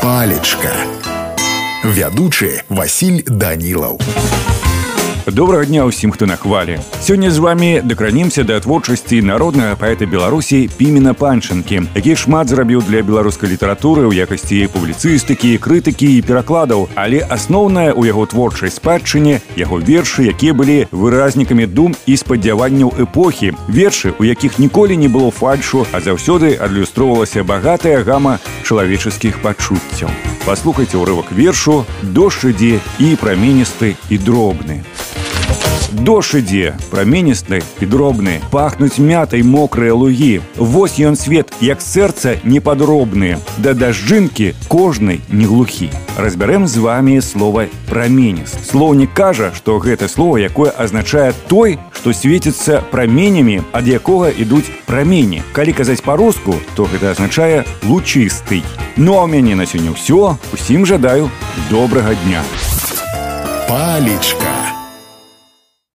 Палечка. Вядучы Васіль Данілаў. Добрага дня ўсім, хто на хвалі. Сёння з вами дакранемся да творчасці народнага паэта Беларусі Пімена Панчынкі, які шмат зрабіў для беларускай літаратуры ў якасці публіцыстыкі, крытыкі і перакладаў, але асноўнае ў яго творчай спадчыне яго вершы, якія былі выразнікамі дум і спадзяванняў эпохі, вершы, у якіх ніколі не было фальшу, а заўсёды адлюстроўвалася багатая гама чалавеческіх пачуццяў. Паслухайце ўрывак вершу «Дождж ідзе і праменісты і дробны». Дождж ідзе, праменісты і дробны, пахнуць мятай мокрыя лугі. Вось ён свет, як сэрца непадробны, да дажджынкі кожнай не глухі. Разбярэм з вами слова «праменіст». Слоўнік кажа, што гэта слова, якое азначае той, што свеціцца праменямі, ад якога ідуць прамені. Калі казаць па-руску, то гэта азначае «лучысты». Ну а ў мяне на сёння ўсё. Усім жадаю добрага дня. Палечка.